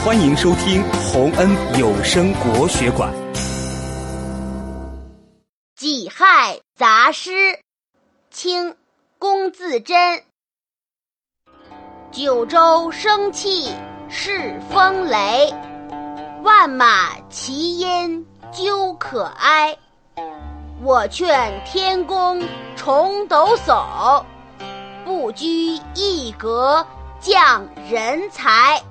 欢迎收听洪恩有声国学馆 《己亥杂诗》清·龚自珍。九州生气恃风雷，万马齐喑究可哀。我劝天公重抖擞，不拘一格降人才。